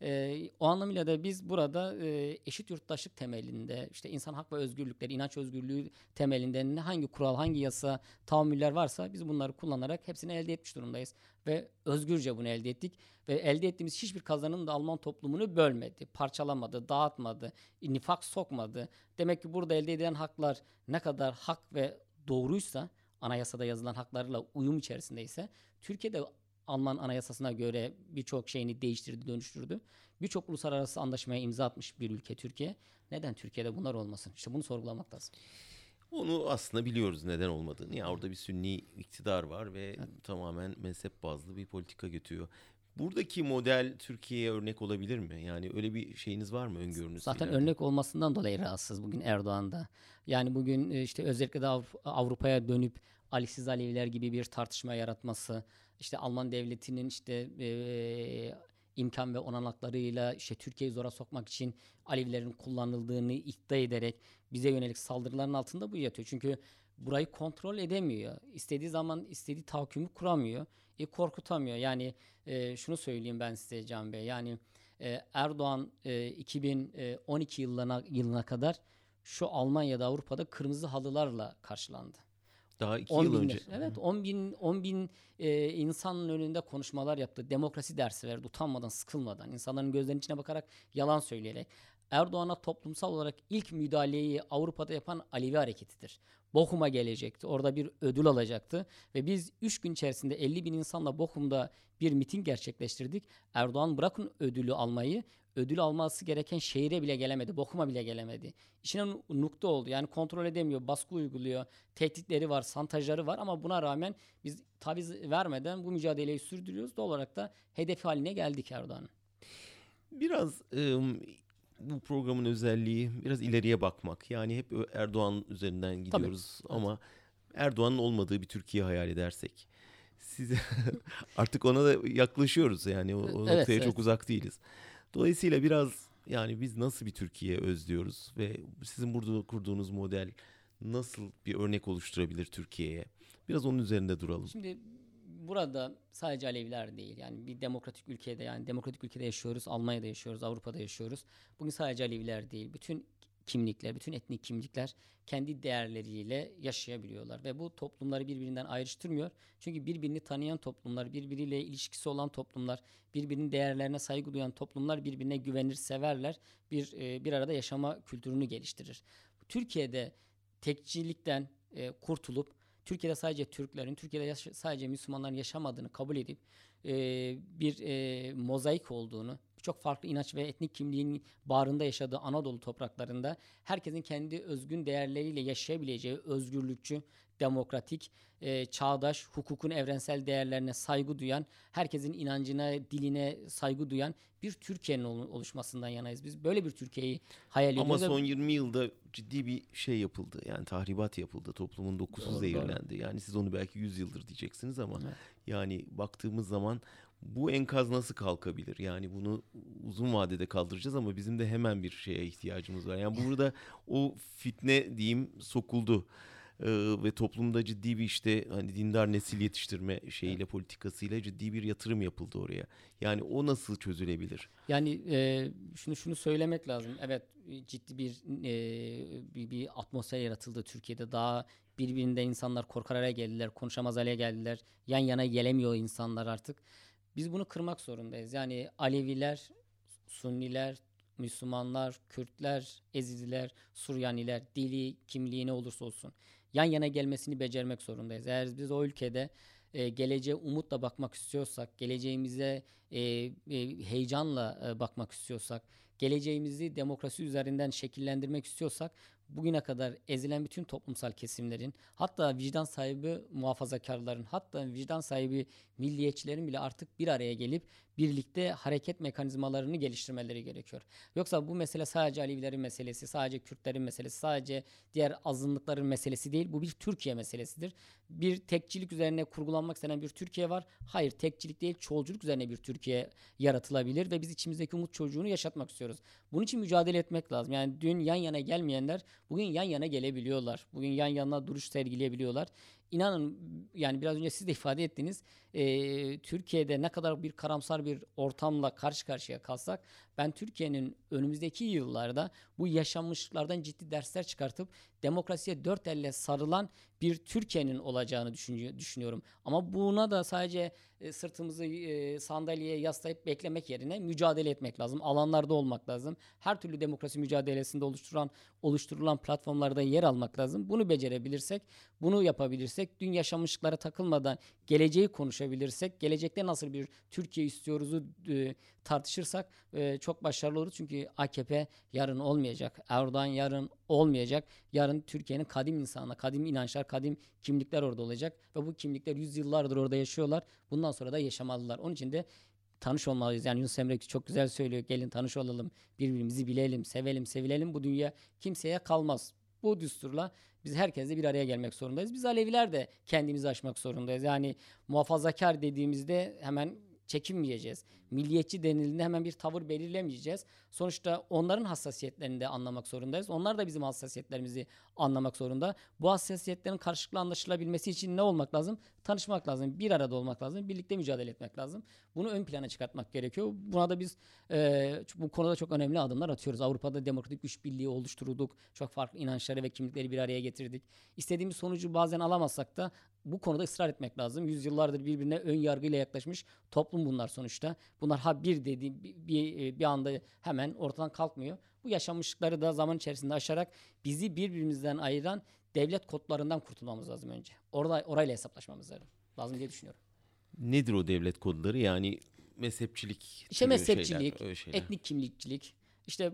O anlamıyla da biz burada eşit yurttaşlık temelinde, işte insan hak ve özgürlükleri, inanç özgürlüğü temelinde hangi kural, hangi yasa, tahammüller varsa biz bunları kullanarak hepsini elde etmiş durumdayız. Ve özgürce bunu elde ettik. Ve elde ettiğimiz hiçbir kazanım da Alman toplumunu bölmedi, parçalamadı, dağıtmadı, nifak sokmadı. Demek ki burada elde edilen haklar ne kadar hak ve doğruysa, anayasada yazılan haklarla uyum içerisindeyse, Türkiye'de Alman anayasasına göre birçok şeyini değiştirdi, dönüştürdü. Birçok uluslararası anlaşmaya imza atmış bir ülke Türkiye. Neden Türkiye'de bunlar olmasın? İşte bunu sorgulamak lazım. Onu aslında biliyoruz neden olmadığını. Ya orada bir Sünni iktidar var ve tamamen mezhep bazlı bir politika götürüyor. Buradaki model Türkiye'ye örnek olabilir mi? Yani öyle bir şeyiniz var mı, öngörünüz Zaten ileride? örnek olmasından dolayı rahatsız bugün Erdoğan'da. Yani bugün işte özellikle de Avrupa'ya dönüp Ali'siz Aleviler gibi bir tartışma yaratması, işte Alman devletinin işte imkan ve olanaklarıyla işte Türkiye'yi zora sokmak için Alevilerin kullanıldığını iddia ederek bize yönelik saldırıların altında bu yatıyor. Çünkü burayı kontrol edemiyor. İstediği zaman istediği tahakkümü kuramıyor. Korkutamıyor. Yani şunu söyleyeyim ben size Can Bey. Yani Erdoğan 2012 yılına kadar şu Almanya'da, Avrupa'da kırmızı halılarla karşılandı. Daha 2 yıl 10 önce. binler, evet 10 bin insanın önünde konuşmalar yaptı. Demokrasi dersi verdi utanmadan, sıkılmadan, insanların gözlerinin içine bakarak, yalan söyleyerek. Erdoğan'a toplumsal olarak ilk müdahaleyi Avrupa'da yapan Alevi hareketidir. Bochum'a gelecekti. Orada bir ödül alacaktı. Ve biz 3 gün içerisinde 50 bin insanla Bochum'da bir miting gerçekleştirdik. Erdoğan bırakın ödülü almayı, ödül alması gereken şehire bile gelemedi. Bochum'a bile gelemedi. İşine nukta oldu. Yani kontrol edemiyor, baskı uyguluyor, tehditleri var, santajları var ama buna rağmen biz taviz vermeden bu mücadeleyi sürdürüyoruz. Doğal olarak da hedef haline geldik Erdoğan'ın. Biraz bu programın özelliği biraz ileriye bakmak. Yani hep Erdoğan üzerinden gidiyoruz ama Erdoğan'ın olmadığı bir Türkiye hayal edersek. Siz artık ona da yaklaşıyoruz yani o Evet, noktaya evet. çok uzak değiliz. Dolayısıyla biraz yani biz nasıl bir Türkiye özlüyoruz ve sizin burada kurduğunuz model nasıl bir örnek oluşturabilir Türkiye'ye? Biraz onun üzerinde duralım. Şimdi burada sadece Aleviler değil, yani bir demokratik ülkede, yani demokratik ülkede yaşıyoruz, Almanya'da yaşıyoruz, Avrupa'da yaşıyoruz. Bugün sadece Aleviler değil, bütün kimlikler, bütün etnik kimlikler kendi değerleriyle yaşayabiliyorlar ve bu toplumları birbirinden ayrıştırmıyor. Çünkü birbirini tanıyan toplumlar, birbiriyle ilişkisi olan toplumlar, birbirinin değerlerine saygı duyan toplumlar birbirine güvenir, severler, bir arada yaşama kültürünü geliştirir. Türkiye'de tekçilikten kurtulup Türkiye'de sadece Türklerin, Türkiye'de sadece Müslümanların yaşamadığını kabul edip bir mozaik olduğunu, birçok farklı inanç ve etnik kimliğin bağrında yaşadığı Anadolu topraklarında herkesin kendi özgün değerleriyle yaşayabileceği özgürlükçü, demokratik, çağdaş, hukukun evrensel değerlerine saygı duyan, herkesin inancına, diline saygı duyan bir Türkiye'nin oluşmasından yanayız. Biz böyle bir Türkiye'yi hayal Ama ediyoruz. son 20 yılda ciddi bir şey yapıldı. Yani tahribat yapıldı. Toplumun dokusu Doğru, zehirlendi. Yani siz onu belki 100 yıldır diyeceksiniz ama Evet. yani baktığımız zaman bu enkaz nasıl kalkabilir? Yani bunu uzun vadede kaldıracağız ama bizim de hemen bir şeye ihtiyacımız var. Yani burada o fitne diyeyim sokuldu. Ve toplumda ciddi bir işte hani dindar nesil yetiştirme şeyiyle politikasıyla ciddi bir yatırım yapıldı oraya. Yani o nasıl çözülebilir? Yani şunu söylemek lazım. Evet, ciddi bir atmosfer yaratıldı Türkiye'de. Daha birbirinden insanlar korkar hale geldiler, konuşamaz hale geldiler. Yan yana gelemiyor insanlar artık. Biz bunu kırmak zorundayız. Yani Aleviler, Sunniler, Müslümanlar, Kürtler, Ezidiler, Suryaniler, dili, kimliği ne olursa olsun yan yana gelmesini becermek zorundayız. Eğer biz o ülkede geleceğe umutla bakmak istiyorsak, geleceğimize heyecanla bakmak istiyorsak, geleceğimizi demokrasi üzerinden şekillendirmek istiyorsak, bugüne kadar ezilen bütün toplumsal kesimlerin, hatta vicdan sahibi muhafazakarların, hatta vicdan sahibi milliyetçilerin bile artık bir araya gelip birlikte hareket mekanizmalarını geliştirmeleri gerekiyor. Yoksa bu mesele sadece Alevilerin meselesi, sadece Kürtlerin meselesi, sadece diğer azınlıkların meselesi değil. Bu bir Türkiye meselesidir. Bir tekçilik üzerine kurgulanmak istenen bir Türkiye var. Hayır, tekçilik değil, çoğulculuk üzerine bir Türkiye yaratılabilir ve biz içimizdeki umut çocuğunu yaşatmak istiyoruz. Bunun için mücadele etmek lazım. Yani dün yan yana gelmeyenler bugün yan yana gelebiliyorlar. Bugün yan yana duruş sergileyebiliyorlar. İnanın, yani biraz önce siz de ifade ettiniz, Türkiye'de ne kadar bir karamsar bir ortamla karşı karşıya kalsak, ben Türkiye'nin önümüzdeki yıllarda bu yaşanmışlıklardan ciddi dersler çıkartıp demokrasiye dört elle sarılan bir Türkiye'nin olacağını düşünüyorum. Ama buna da sadece sırtımızı sandalyeye yaslayıp beklemek yerine mücadele etmek lazım. Alanlarda olmak lazım. Her türlü demokrasi mücadelesinde oluşturulan platformlarda yer almak lazım. Bunu becerebilirsek, bunu yapabilirsek konuşabilirsek, dün yaşanmışlıklara takılmadan geleceği konuşabilirsek, gelecekte nasıl bir Türkiye istiyoruzu tartışırsak çok başarılı oluruz. Çünkü AKP yarın olmayacak, Erdoğan yarın olmayacak. Yarın Türkiye'nin kadim insanlar, kadim inançlar, kadim kimlikler orada olacak ve bu kimlikler yüzyıllardır orada yaşıyorlar. Bundan sonra da yaşamalılar. Onun için de tanış olmalıyız. Yani Yunus Emre çok güzel söylüyor. Gelin tanış olalım, birbirimizi bilelim, sevelim, sevilelim. Bu dünya kimseye kalmaz. Bu düsturla biz herkesle bir araya gelmek zorundayız. Biz Aleviler de kendimizi aşmak zorundayız. Yani muhafazakar dediğimizde hemen çekinmeyeceğiz. Milliyetçi denildiğinde hemen bir tavır belirlemeyeceğiz. Sonuçta onların hassasiyetlerini de anlamak zorundayız. Onlar da bizim hassasiyetlerimizi anlamak zorunda. Bu hassasiyetlerin karşılıklı anlaşılabilmesi için ne olmak lazım? Tanışmak lazım. Bir arada olmak lazım. Birlikte mücadele etmek lazım. Bunu ön plana çıkartmak gerekiyor. Buna da biz bu konuda çok önemli adımlar atıyoruz. Avrupa'da demokratik güç birliği oluşturduk. Çok farklı inançları ve kimlikleri bir araya getirdik. İstediğimiz sonucu bazen alamazsak da bu konuda ısrar etmek lazım. Yüzyıllardır birbirine ön yargıyla yaklaşmış toplum bunlar sonuçta. Bunlar bir dediğim bir anda hemen ortadan kalkmıyor. Bu yaşanmışlıkları da zaman içerisinde aşarak bizi birbirimizden ayıran devlet kodlarından kurtulmamız lazım önce. Orayla hesaplaşmamız lazım diye düşünüyorum. Nedir o devlet kodları? Yani mezhepçilik, İşte mezhepçilik, şeyler. etnik kimlikçilik, işte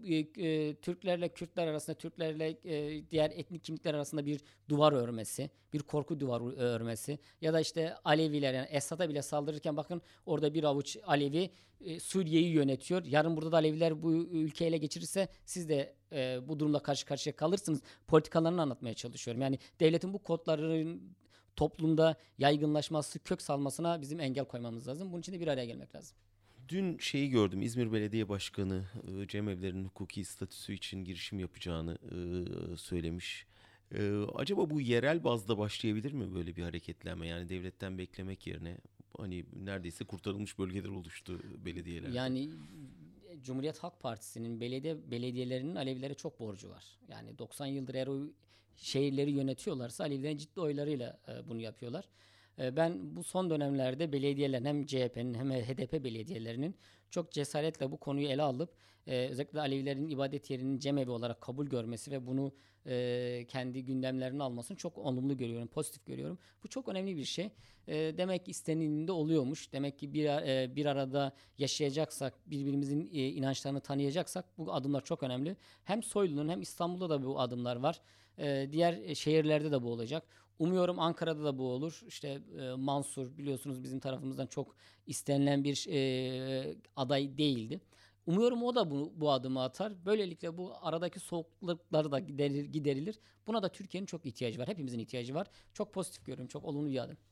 Türklerle Kürtler arasında, Türklerle diğer etnik kimlikler arasında bir duvar örmesi, bir korku duvarı örmesi ya da işte Aleviler, yani Esad'a bile saldırırken bakın orada bir avuç Alevi Suriye'yi yönetiyor. Yarın burada da Aleviler bu ülkeyi ele geçirirse siz de bu durumla karşı karşıya kalırsınız. Politikalarını anlatmaya çalışıyorum. Yani devletin bu kodlarının toplumda yaygınlaşması, kök salmasına bizim engel koymamız lazım. Bunun için de bir araya gelmek lazım. Dün şeyi gördüm. İzmir Belediye Başkanı cemevlerinin hukuki statüsü için girişim yapacağını söylemiş. Acaba bu yerel bazda başlayabilir mi böyle bir hareketlenme? Yani devletten beklemek yerine hani neredeyse kurtarılmış bölgeler oluştu belediyelerde. Yani Cumhuriyet Halk Partisi'nin belediyelerinin Alevilere çok borcu var. Yani 90 yıldır eğer o şehirleri yönetiyorlarsa Alevilerin ciddi oylarıyla bunu yapıyorlar. Ben bu son dönemlerde belediyelerin hem CHP'nin hem HDP belediyelerinin çok cesaretle bu konuyu ele alıp özellikle Alevilerin ibadet yerinin cemevi olarak kabul görmesi ve bunu kendi gündemlerine almasını çok olumlu görüyorum, pozitif görüyorum. Bu çok önemli bir şey. Demek ki istenildiğinde oluyormuş. Demek ki bir arada yaşayacaksak, birbirimizin inançlarını tanıyacaksak bu adımlar çok önemli. Hem Soylu'nun hem İstanbul'da da bu adımlar var. Diğer şehirlerde de bu olacak. Umuyorum Ankara'da da bu olur. İşte Mansur biliyorsunuz bizim tarafımızdan çok istenilen bir aday değildi. Umuyorum o da bu adımı atar. Böylelikle bu aradaki soğukluklar da giderilir. Buna da Türkiye'nin çok ihtiyacı var. Hepimizin ihtiyacı var. Çok pozitif görüyorum. Çok olumlu bir adım.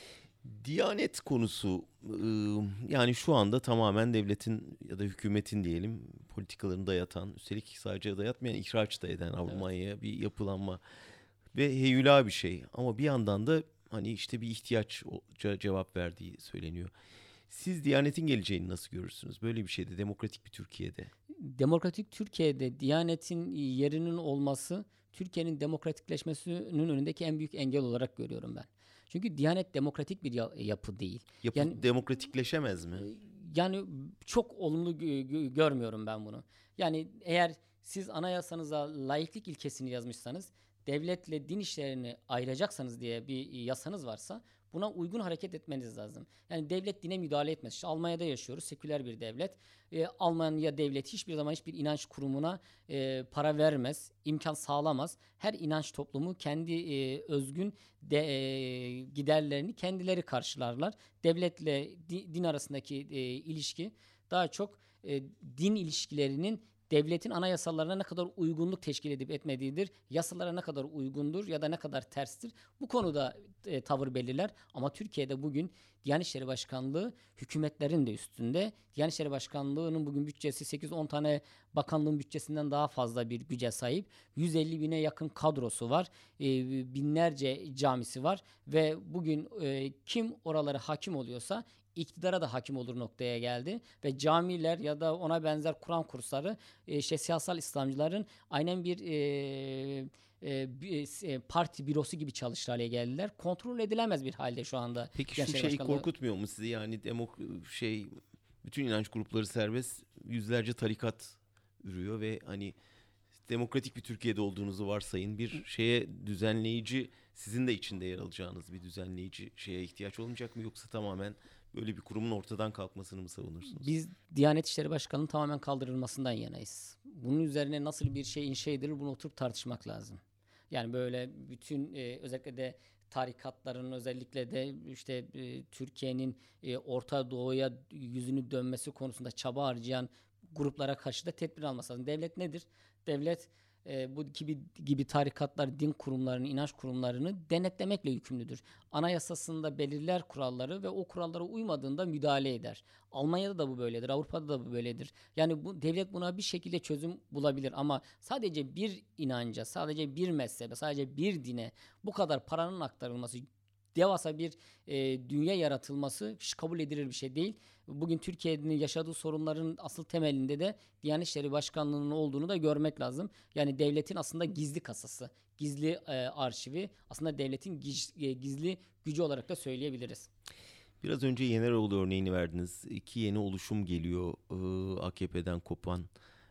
Diyanet konusu yani şu anda tamamen devletin ya da hükümetin diyelim politikalarını dayatan, üstelik sadece dayatmayan, ihraç da eden Almanya'ya bir yapılanma ve heyula bir şey. Ama bir yandan da hani işte bir ihtiyaç cevap verdiği söyleniyor. Siz Diyanet'in geleceğini nasıl görürsünüz? Böyle bir şeyde, demokratik bir Türkiye'de. Demokratik Türkiye'de Diyanet'in yerinin olması Türkiye'nin demokratikleşmesinin önündeki en büyük engel olarak görüyorum ben. Çünkü Diyanet demokratik bir yapı değil. Yapı demokratikleşemez mi? Yani çok olumlu görmüyorum ben bunu. Yani eğer siz anayasanıza laiklik ilkesini yazmışsanız, devletle din işlerini ayıracaksanız diye bir yasanız varsa buna uygun hareket etmeniz lazım. Yani devlet dine müdahale etmez. İşte Almanya'da yaşıyoruz. Seküler bir devlet. Almanya devleti hiçbir zaman hiçbir inanç kurumuna para vermez. İmkan sağlamaz. Her inanç toplumu kendi özgün giderlerini kendileri karşılarlar. Devletle din arasındaki ilişki daha çok din ilişkilerinin devletin anayasalarına ne kadar uygunluk teşkil edip etmediğidir. Yasalara ne kadar uygundur ya da ne kadar terstir. Bu konuda tavır belirler. Ama Türkiye'de bugün Diyanet İşleri Başkanlığı hükümetlerin de üstünde. Diyanet İşleri Başkanlığı'nın bugün bütçesi 8-10 tane bakanlığın bütçesinden daha fazla bir güce sahip. 150 bine yakın kadrosu var. Binlerce camisi var. Ve bugün kim oralara hakim oluyorsa iktidara da hakim olur noktaya geldi ve camiler ya da ona benzer Kur'an kursları siyasal İslamcıların aynen bir parti bürosu gibi çalışır hale geldiler. Kontrol edilemez bir halde şu anda. Peki şu şey korkutmuyor mu sizi? Yani bütün inanç grupları serbest, yüzlerce tarikat ürüyor ve hani demokratik bir Türkiye'de olduğunuzu varsayın. Bir şeye düzenleyici, sizin de içinde yer alacağınız bir düzenleyici şeye ihtiyaç olmayacak mı? Yoksa tamamen böyle bir kurumun ortadan kalkmasını mı savunursunuz? Biz Diyanet İşleri Başkanı'nın tamamen kaldırılmasından yanayız. Bunun üzerine nasıl bir şey inşa edilir, bunu oturup tartışmak lazım. Yani böyle bütün özellikle de tarikatların, özellikle de işte Türkiye'nin Orta Doğu'ya yüzünü dönmesi konusunda çaba harcayan gruplara karşı da tedbir alması lazım. Devlet nedir? Devlet bu gibi tarikatlar, din kurumlarını, inanç kurumlarını denetlemekle yükümlüdür. Anayasasında belirler kuralları ve o kurallara uymadığında müdahale eder. Almanya'da da bu böyledir, Avrupa'da da bu böyledir. Yani bu devlet buna bir şekilde çözüm bulabilir ama sadece bir inanca, sadece bir mezhebe, sadece bir dine bu kadar paranın aktarılması, devasa bir dünya yaratılması hiç kabul edilir bir şey değil. Bugün Türkiye'nin yaşadığı sorunların asıl temelinde de Diyanet İşleri Başkanlığı'nın olduğunu da görmek lazım. Yani devletin aslında gizli kasası, gizli arşivi, aslında devletin gizli gücü olarak da söyleyebiliriz. Biraz önce Yeneroğlu örneğini verdiniz. İki yeni oluşum geliyor AKP'den kopan.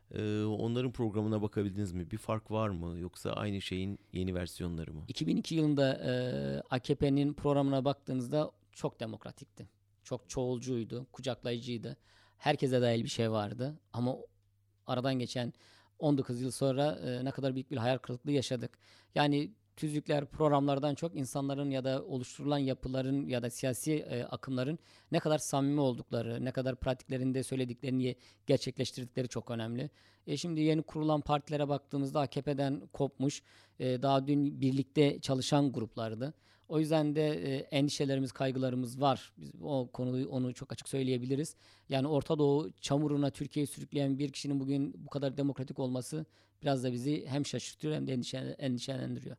Onların programına bakabildiniz mi? Bir fark var mı? Yoksa aynı şeyin yeni versiyonları mı? 2002 yılında AKP'nin programına baktığınızda çok demokratikti. Çok çoğulcuydu, kucaklayıcıydı. Herkese dahil bir şey vardı. Ama aradan geçen 19 yıl sonra ne kadar büyük bir hayal kırıklığı yaşadık. Yani tüzükler, programlardan çok insanların ya da oluşturulan yapıların ya da siyasi akımların ne kadar samimi oldukları, ne kadar pratiklerinde söylediklerini gerçekleştirdikleri çok önemli. Şimdi yeni kurulan partilere baktığımızda AKP'den kopmuş, daha dün birlikte çalışan gruplardı. O yüzden de endişelerimiz, kaygılarımız var. Biz o konuyu onu çok açık söyleyebiliriz. Yani Orta Doğu çamuruna Türkiye'yi sürükleyen bir kişinin bugün bu kadar demokratik olması biraz da bizi hem şaşırtıyor hem de endişelendiriyor.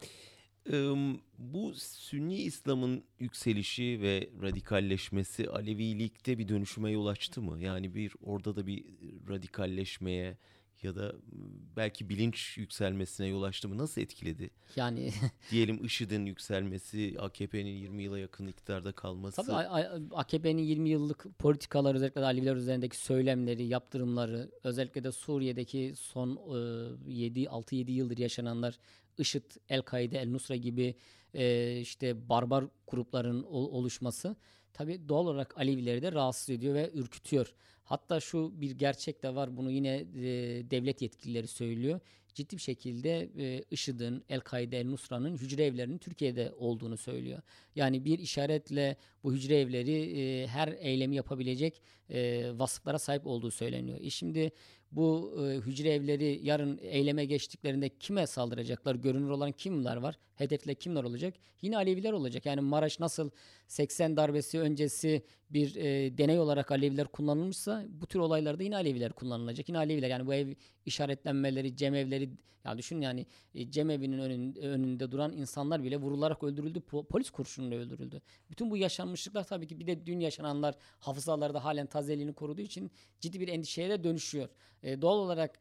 Bu Sünni İslam'ın yükselişi ve radikalleşmesi Alevilikte bir dönüşüme yol açtı mı? Yani orada da bir radikalleşmeye ya da belki bilinç yükselmesine yol açtı mı? Nasıl etkiledi? Yani Diyelim IŞİD'in yükselmesi, AKP'nin 20 yıla yakın iktidarda kalması. tabii AKP'nin 20 yıllık politikaları, özellikle de Aleviler üzerindeki söylemleri, yaptırımları, özellikle de Suriye'deki son 6-7 yıldır yaşananlar, IŞİD, El-Kaide, El-Nusra gibi işte barbar grupların oluşması tabii doğal olarak Alevileri de rahatsız ediyor ve ürkütüyor. Hatta şu bir gerçek de var, bunu yine devlet yetkilileri söylüyor. Ciddi bir şekilde IŞİD'in, El-Kaide, El-Nusra'nın hücre evlerinin Türkiye'de olduğunu söylüyor. Yani bir işaretle bu hücre evleri her eylemi yapabilecek vasıflara sahip olduğu söyleniyor. Şimdi bu hücre evleri yarın eyleme geçtiklerinde kime saldıracaklar? Görünür olan kimler var? Hedefle kimler olacak? Yine Aleviler olacak. Yani Maraş nasıl 80 darbesi öncesi bir deney olarak Aleviler kullanılmışsa bu tür olaylarda yine Aleviler kullanılacak. Yine Aleviler, yani bu ev işaretlenmeleri, cemevleri, ya düşün yani cemevinin önünde duran insanlar bile vurularak öldürüldü. Polis kurşunuyla öldürüldü. Bütün bu yaşanmışlıklar tabii ki bir de dün yaşananlar hafızalarda halen tazeliğini koruduğu için ciddi bir endişeye de dönüşüyor. Doğal olarak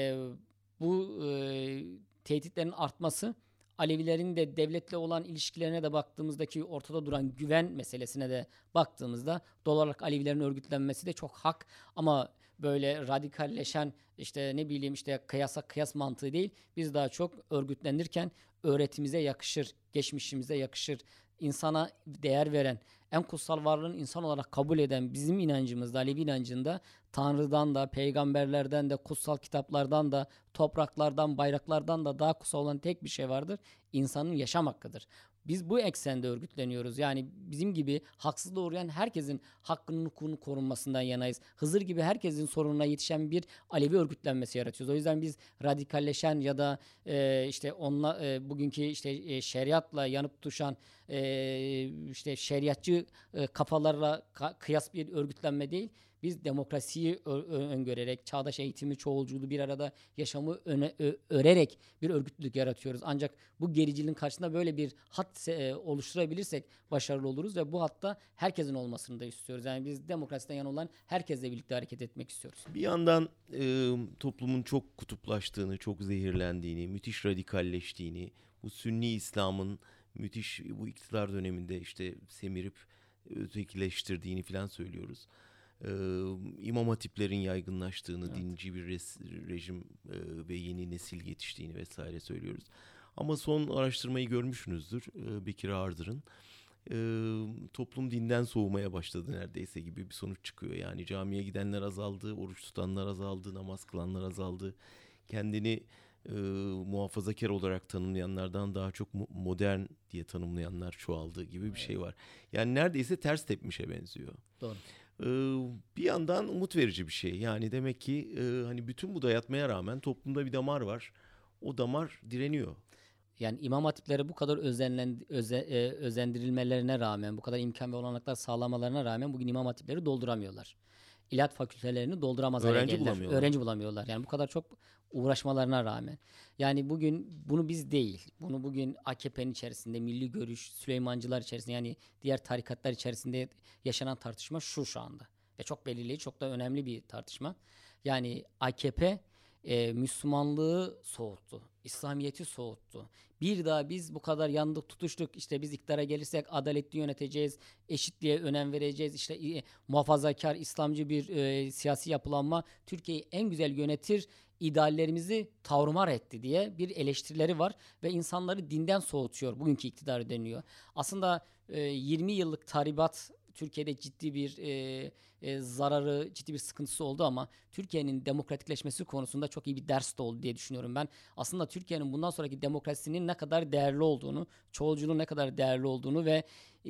bu tehditlerin artması, Alevilerin de devletle olan ilişkilerine de baktığımızdaki ortada duran güven meselesine de baktığımızda doğal olarak Alevilerin örgütlenmesi de çok hak, ama böyle radikalleşen işte ne bileyim işte kıyas mantığı değil. Biz daha çok örgütlenirken öğretimize yakışır, geçmişimize yakışır, insana değer veren, en kutsal varlığın insan olarak kabul eden bizim inancımızda, Alevi inancında Tanrı'dan da, peygamberlerden de, kutsal kitaplardan da, topraklardan, bayraklardan da daha kutsal olan tek bir şey vardır. İnsanın yaşam hakkıdır. Biz bu eksende örgütleniyoruz. Yani bizim gibi haksızlığa uğrayan herkesin hakkının, hukukunun korunmasından yanayız. Hızır gibi herkesin sorununa yetişen bir Alevi örgütlenmesi yaratıyoruz. O yüzden biz radikalleşen ya da işte bugünkü işte şeriatla yanıp tutuşan işte şeriatçı kafalarla kıyas bir örgütlenme değil. Biz demokrasiyi öngörerek, çağdaş eğitimi, çoğulculuğu bir arada yaşamı örerek bir örgütlülük yaratıyoruz. Ancak bu gericiliğin karşısında böyle bir hat oluşturabilirsek başarılı oluruz ve bu hatta herkesin olmasını da istiyoruz. Yani biz demokrasiden yana olan herkesle birlikte hareket etmek istiyoruz. Bir yandan toplumun çok kutuplaştığını, çok zehirlendiğini, müthiş radikalleştiğini, bu Sünni İslam'ın müthiş bu iktidar döneminde işte semirip ötekileştirdiğini falan söylüyoruz. İmam hatiplerin yaygınlaştığını, dinci bir rejim ve yeni nesil yetiştiğini vesaire söylüyoruz. Ama son araştırmayı görmüşsünüzdür, Bekir Ağırdır'ın. Toplum dinden soğumaya başladı neredeyse gibi bir sonuç çıkıyor. Yani camiye gidenler azaldı, oruç tutanlar azaldı, namaz kılanlar azaldı. Kendini muhafazakar olarak tanımlayanlardan daha çok modern diye tanımlayanlar çoğaldı gibi bir şey var. Yani neredeyse ters tepmişe benziyor. Doğru. Bir yandan umut verici bir şey. Yani demek ki hani bütün bu dayatmaya rağmen toplumda bir damar var. O damar direniyor. Yani imam hatiplere bu kadar özendirilmelerine rağmen, bu kadar imkan ve olanaklar sağlamalarına rağmen bugün imam hatipleri dolduramıyorlar. İlahiyat fakültelerini dolduramaz hale Öğrenci geldiler. bulamıyorlar. Öğrenci bulamıyorlar. Yani bu kadar çok uğraşmalarına rağmen. Yani bugün bunu biz değil, bunu bugün AKP'nin içerisinde, Milli Görüş, Süleymancılar içerisinde, yani diğer tarikatlar içerisinde yaşanan tartışma şu anda. Ve çok belirleyici, çok da önemli bir tartışma. Yani AKP Müslümanlığı soğuttu. İslamiyet'i soğuttu. Bir daha biz bu kadar yandık tutuştuk, işte biz iktidara gelirsek adaletli yöneteceğiz, eşitliğe önem vereceğiz, işte muhafazakar, İslamcı bir siyasi yapılanma Türkiye'yi en güzel yönetir, ideallerimizi tarumar etti diye bir eleştirileri var ve insanları dinden soğutuyor bugünkü iktidar deniyor. Aslında 20 yıllık tahribat Türkiye'de ciddi bir zararı, ciddi bir sıkıntısı oldu ama Türkiye'nin demokratikleşmesi konusunda çok iyi bir ders de oldu diye düşünüyorum ben. Aslında Türkiye'nin bundan sonraki demokrasisinin ne kadar değerli olduğunu, çoğulculuğun ne kadar değerli olduğunu ve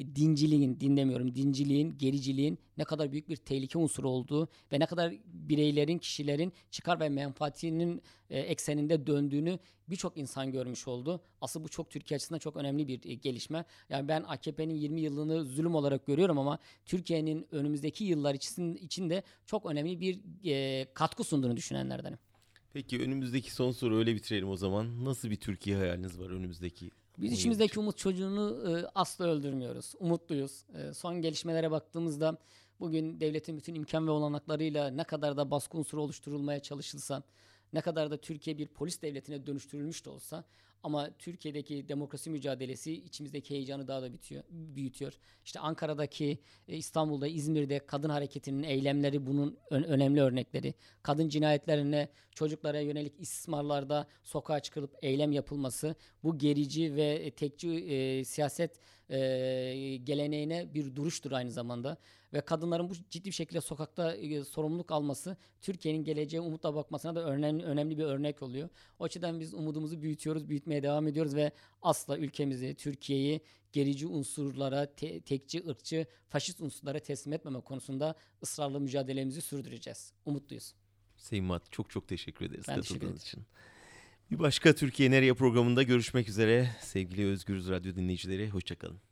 dinciliğin, gericiliğin ne kadar büyük bir tehlike unsuru olduğu ve ne kadar bireylerin, kişilerin çıkar ve menfaatinin ekseninde döndüğünü birçok insan görmüş oldu. Aslında bu çok Türkiye açısından çok önemli bir gelişme. Yani ben AKP'nin 20 yılını zulüm olarak görüyorum ama Türkiye'nin önümüzdeki yıllar içinde çok önemli bir katkı sunduğunu düşünenlerdenim. Peki önümüzdeki son soru öyle bitirelim o zaman. Nasıl bir Türkiye hayaliniz var önümüzdeki? Biz içimizdeki umut çocuğunu asla öldürmüyoruz. Umutluyuz. Son gelişmelere baktığımızda bugün devletin bütün imkan ve olanaklarıyla ne kadar da baskı unsuru oluşturulmaya çalışılsa, ne kadar da Türkiye bir polis devletine dönüştürülmüş de olsa ama Türkiye'deki demokrasi mücadelesi içimizdeki heyecanı daha da büyütüyor. İşte Ankara'daki, İstanbul'da, İzmir'de kadın hareketinin eylemleri bunun önemli örnekleri. Kadın cinayetlerine, çocuklara yönelik istismarlarda sokağa çıkılıp eylem yapılması bu gerici ve tekçi siyaset geleneğine bir duruştur aynı zamanda. Ve kadınların bu ciddi bir şekilde sokakta sorumluluk alması Türkiye'nin geleceğe umutla bakmasına da önemli bir örnek oluyor. O açıdan biz umudumuzu büyütmeye devam ediyoruz ve asla ülkemizi, Türkiye'yi gerici unsurlara, tekçi, ırkçı, faşist unsurlara teslim etmeme konusunda ısrarlı mücadelemizi sürdüreceğiz. Umutluyuz. Sayın Mat, çok teşekkür ederiz katıldığınız için. Bir başka Türkiye Nereye programında görüşmek üzere. Sevgili Özgürüz Radyo dinleyicileri, hoşçakalın.